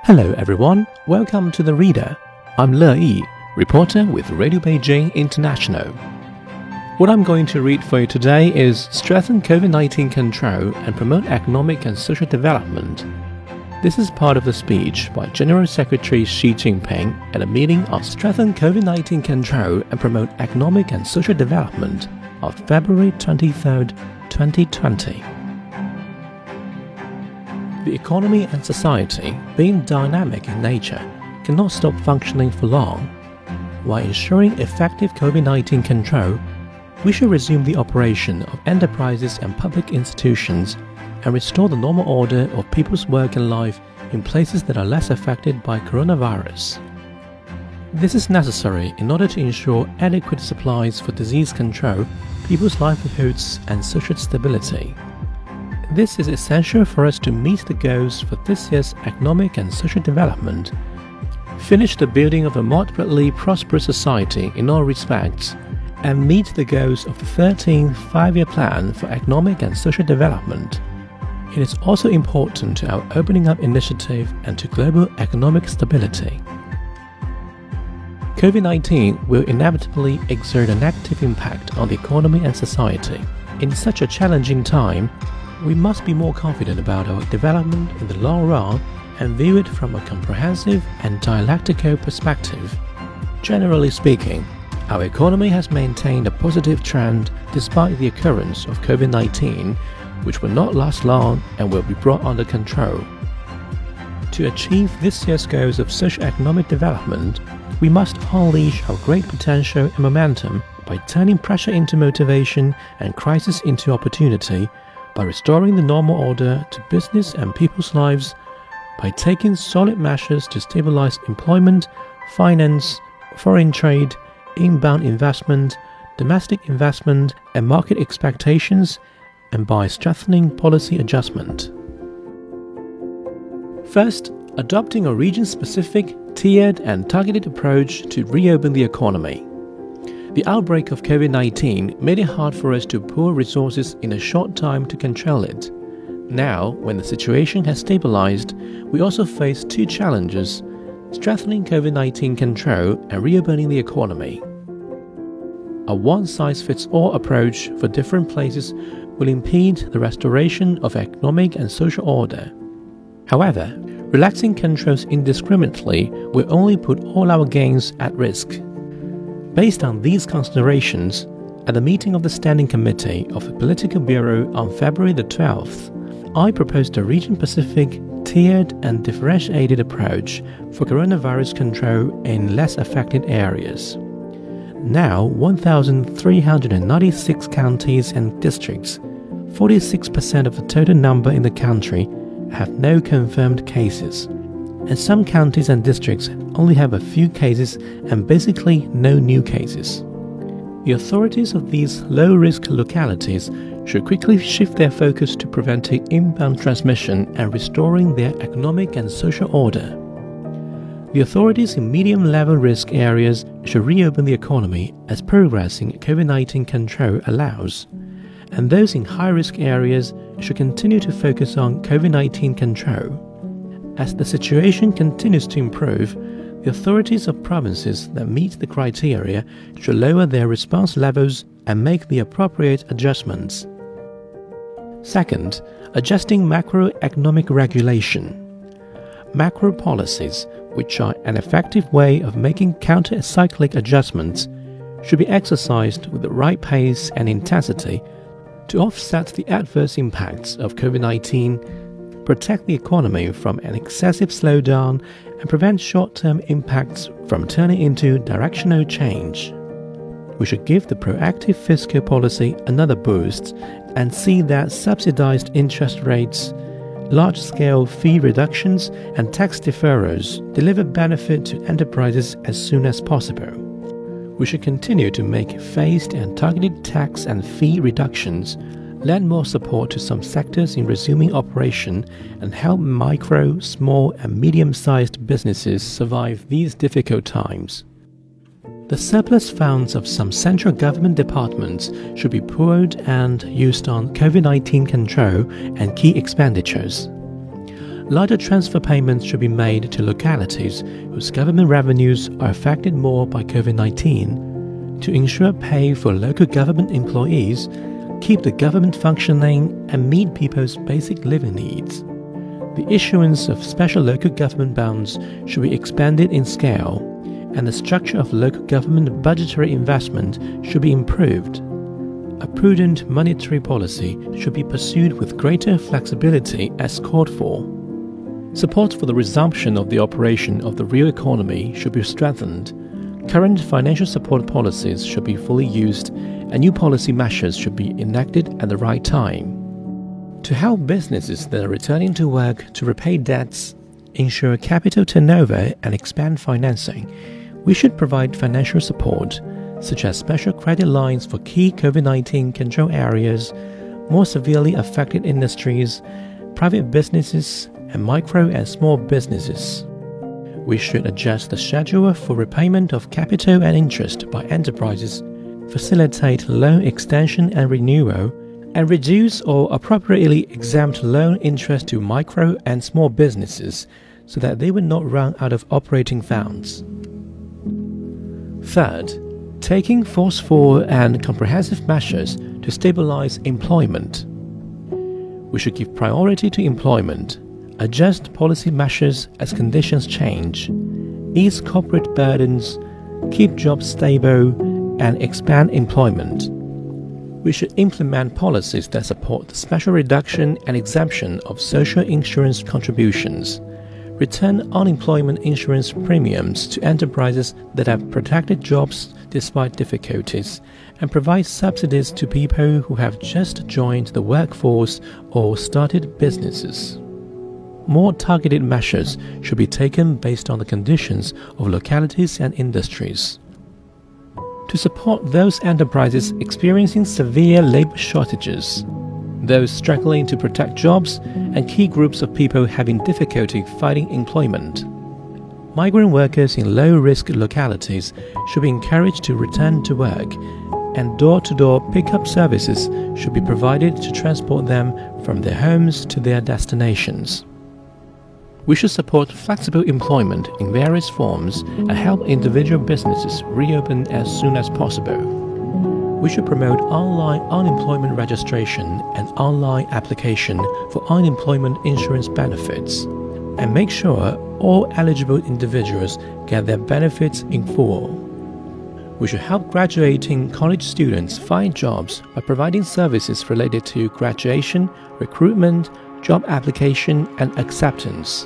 Hello everyone, welcome to The Reader. I'm Le Yi, reporter with Radio Beijing International. What I'm going to read for you today is Strengthen COVID-19 Control and Promote Economic and Social Development. This is part of the speech by General Secretary Xi Jinping at a meeting on Strengthen COVID-19 Control and Promote Economic and Social Development of February 23, 2020. The economy and society, being dynamic in nature, cannot stop functioning for long. While ensuring effective COVID-19 control, we should resume the operation of enterprises and public institutions and restore the normal order of people's work and life in places that are less affected by coronavirus. This is necessary in order to ensure adequate supplies for disease control, people's livelihoods, and social stability. This is essential for us to meet the goals for this year's economic and social development, finish the building of a moderately prosperous society in all respects, and meet the goals of the 13th Five-Year Plan for Economic and Social Development. It is also important to our opening up initiative and to global economic stability. COVID-19 will inevitably exert a negative impact on the economy and society. In such a challenging time, we must be more confident about our development in the long run and view it from a comprehensive and dialectical perspective. Generally speaking, our economy has maintained a positive trend despite the occurrence of COVID-19, which will not last long and will be brought under control. To achieve this year's goals of socio-economic development, we must unleash our great potential and momentum by turning pressure into motivation and crisis into opportunity, by restoring the normal order to business and people's lives, by taking solid measures to stabilize employment, finance, foreign trade, inbound investment, domestic investment, and market expectations, and by strengthening policy adjustment. First, adopting a region-specific, tiered and targeted approach to reopen the economy. The outbreak of COVID-19 made it hard for us to pool resources in a short time to control it. Now, when the situation has stabilized, we also face two challenges: strengthening COVID-19 control and reopening the economy. A one-size-fits-all approach for different places will impede the restoration of economic and social order. However, relaxing controls indiscriminately will only put all our gains at risk. Based on these considerations, at the meeting of the Standing Committee of the Political Bureau on February the 12th, I proposed a region-specific, tiered and differentiated approach for coronavirus control in less affected areas. Now, 1,396 counties and districts, 46% of the total number in the country, have no confirmed cases. And some counties and districts only have a few cases and basically no new cases. The authorities of these low-risk localities should quickly shift their focus to preventing inbound transmission and restoring their economic and social order. The authorities in medium-level risk areas should reopen the economy as progress in COVID-19 control allows, and those in high-risk areas should continue to focus on COVID-19 control. As the situation continues to improve, the authorities of provinces that meet the criteria should lower their response levels and make the appropriate adjustments. Second, adjusting macroeconomic regulation. Macro policies, which are an effective way of making counter-cyclic adjustments, should be exercised with the right pace and intensity to offset the adverse impacts of COVID-19, protect the economy from an excessive slowdown, and prevent short-term impacts from turning into directional change. We should give the proactive fiscal policy another boost and see that subsidized interest rates, large-scale fee reductions, and tax deferrals deliver benefit to enterprises as soon as possible. We should continue to make phased and targeted tax and fee reductions, lend more support to some sectors in resuming operation, and help micro, small, and medium-sized businesses survive these difficult times. The surplus funds of some central government departments should be pooled and used on COVID-19 control and key expenditures. larger transfer payments should be made to localities whose government revenues are affected more by COVID-19 to ensure pay for local government employees, keep the government functioning, and meet people's basic living needs. The issuance of special local government bonds should be expanded in scale, and the structure of local government budgetary investment should be improved. A prudent monetary policy should be pursued with greater flexibility as called for. Support for the resumption of the operation of the real economy should be strengthened. Current financial support policies should be fully used, and new policy measures should be enacted at the right time. To help businesses that are returning to work to repay debts, ensure capital turnover, and expand financing, we should provide financial support, such as special credit lines for key COVID-19 control areas, more severely affected industries, private businesses, and micro and small businesses. We should adjust the schedule for repayment of capital and interest by enterprises, facilitate loan extension and renewal, and reduce or appropriately exempt loan interest to micro and small businesses so that they will not run out of operating funds. Third, taking forceful and comprehensive measures to stabilize employment. We should give priority to employment, adjust policy measures as conditions change, ease corporate burdens, keep jobs stable, and expand employment. We should implement policies that support the special reduction and exemption of social insurance contributions, return unemployment insurance premiums to enterprises that have protected jobs despite difficulties, and provide subsidies to people who have just joined the workforce or started businesses. More targeted measures should be taken based on the conditions of localities and industries. To support those enterprises experiencing severe labor shortages, those struggling to protect jobs, and key groups of people having difficulty finding employment. Migrant workers in low-risk localities should be encouraged to return to work, and door-to-door pickup services should be provided to transport them from their homes to their destinations. We should support flexible employment in various forms and help individual businesses reopen as soon as possible. We should promote online unemployment registration and online application for unemployment insurance benefits, and make sure all eligible individuals get their benefits in full. We should help graduating college students find jobs by providing services related to graduation, recruitment, job application, and acceptance.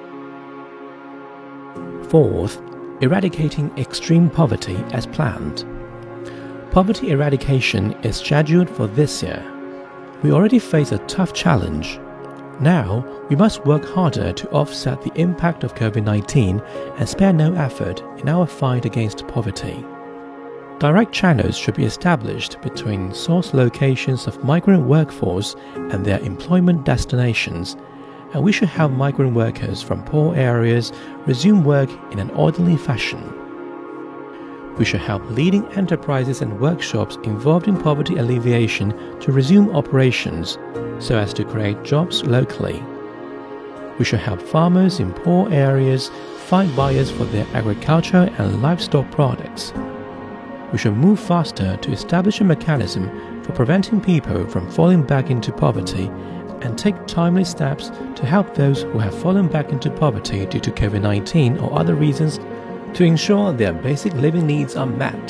Fourth, eradicating extreme poverty as planned. Poverty eradication is scheduled for this year. We already face a tough challenge. Now, we must work harder to offset the impact of COVID-19 and spare no effort in our fight against poverty. Direct channels should be established between source locations of migrant workforce and their employment destinations, and we should help migrant workers from poor areas resume work in an orderly fashion. We should help leading enterprises and workshops involved in poverty alleviation to resume operations so as to create jobs locally. We should help farmers in poor areas find buyers for their agriculture and livestock products. We should move faster to establish a mechanism for preventing people from falling back into poverty and take timely steps to help those who have fallen back into poverty due to COVID-19 or other reasons to ensure their basic living needs are met.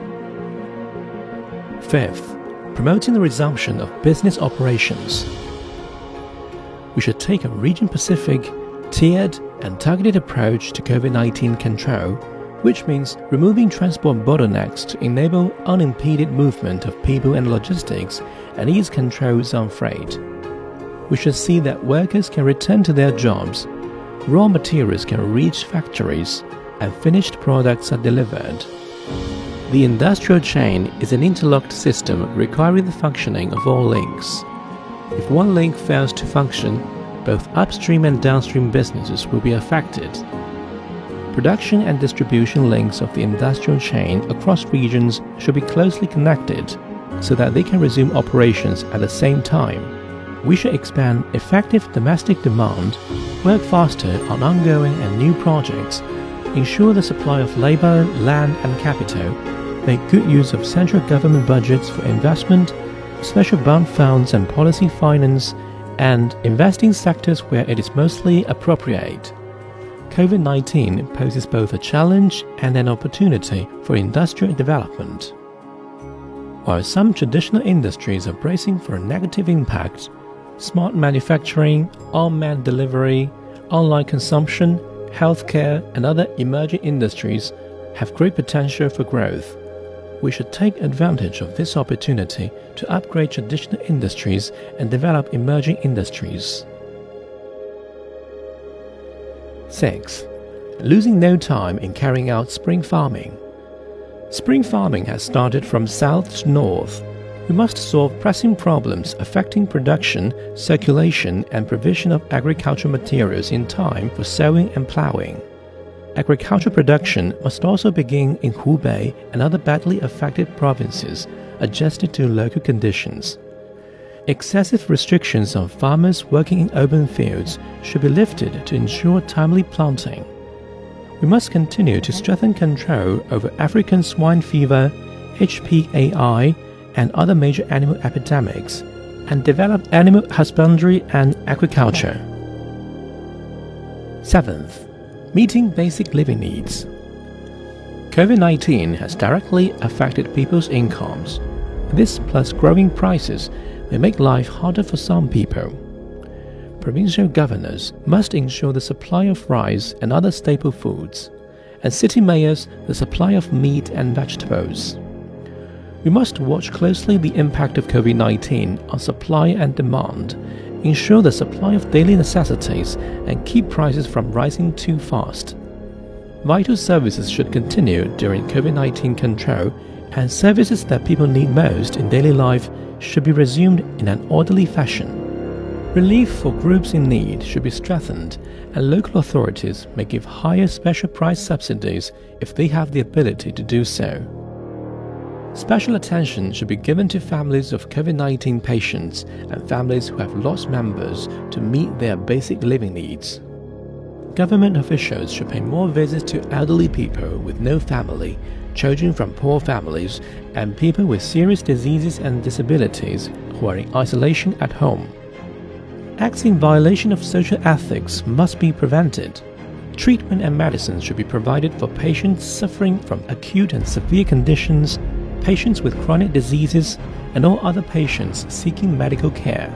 Fifth, promoting the resumption of business operations. We should take a region-specific, tiered, and targeted approach to COVID-19 control, which means removing transport bottlenecks to enable unimpeded movement of people and logistics and ease controls on freight. We should see that workers can return to their jobs, raw materials can reach factories, and finished products are delivered. The industrial chain is an interlocked system requiring the functioning of all links. If one link fails to function, both upstream and downstream businesses will be affected. Production and distribution links of the industrial chain across regions should be closely connected so that they can resume operations at the same time. We should expand effective domestic demand, work faster on ongoing and new projects, ensure the supply of labor, land and capital, make good use of central government budgets for investment, special bond funds and policy finance, and invest in sectors where it is mostly appropriate. COVID-19 poses both a challenge and an opportunity for industrial development. While some traditional industries are bracing for a negative impact, smart manufacturing, unmanned delivery, online consumption, healthcare, and other emerging industries have great potential for growth. We should take advantage of this opportunity to upgrade traditional industries and develop emerging industries. 6. Losing no time in carrying out spring farming. Spring farming has started from south to north. We must solve pressing problems affecting production, circulation, and provision of agricultural materials in time for sowing and plowing. Agricultural production must also begin in Hubei and other badly affected provinces, adjusted to local conditions. Excessive restrictions on farmers working in open fields should be lifted to ensure timely planting. We must continue to strengthen control over African swine fever, HPAI, and other major animal epidemics, and develop animal husbandry and aquaculture. 7th. Meeting basic living needs. COVID-19 has directly affected people's incomes. This, plus growing prices, may make life harder for some people. Provincial governors must ensure the supply of rice and other staple foods, and city mayors the supply of meat and vegetables. We must watch closely the impact of COVID-19 on supply and demand, ensure the supply of daily necessities, and keep prices from rising too fast. Vital services should continue during COVID-19 control, and services that people need most in daily life should be resumed in an orderly fashion. Relief for groups in need should be strengthened, and local authorities may give higher special price subsidies if they have the ability to do so. Special attention should be given to families of COVID-19 patients and families who have lost members to meet their basic living needs. Government officials should pay more visits to elderly people with no family, children from poor families, and people with serious diseases and disabilities who are in isolation at home. Acts in violation of social ethics must be prevented. Treatment and medicine should be provided for patients suffering from acute and severe conditions, patients with chronic diseases, and all other patients seeking medical care.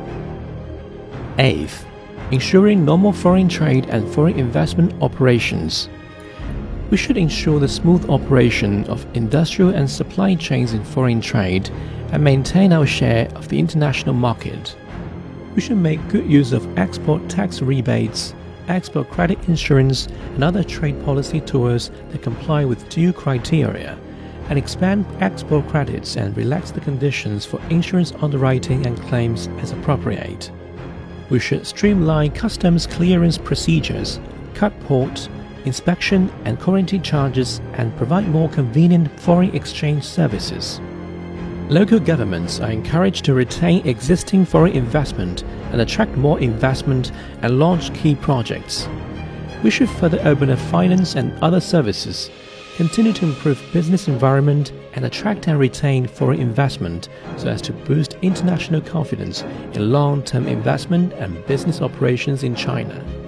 8th. Ensuring normal foreign trade and foreign investment operations. We should ensure the smooth operation of industrial and supply chains in foreign trade and maintain our share of the international market. We should make good use of export tax rebates, export credit insurance, and other trade policy tools that comply with due criteria, and expand export credits and relax the conditions for insurance underwriting and claims as appropriate. We should streamline customs clearance procedures, cut port, inspection and quarantine charges, and provide more convenient foreign exchange services. Local governments are encouraged to retain existing foreign investment and attract more investment and launch key projects. We should further open up finance and other services, continue to improve business environment, and attract and retain foreign investment so as to boost international confidence in long-term investment and business operations in China.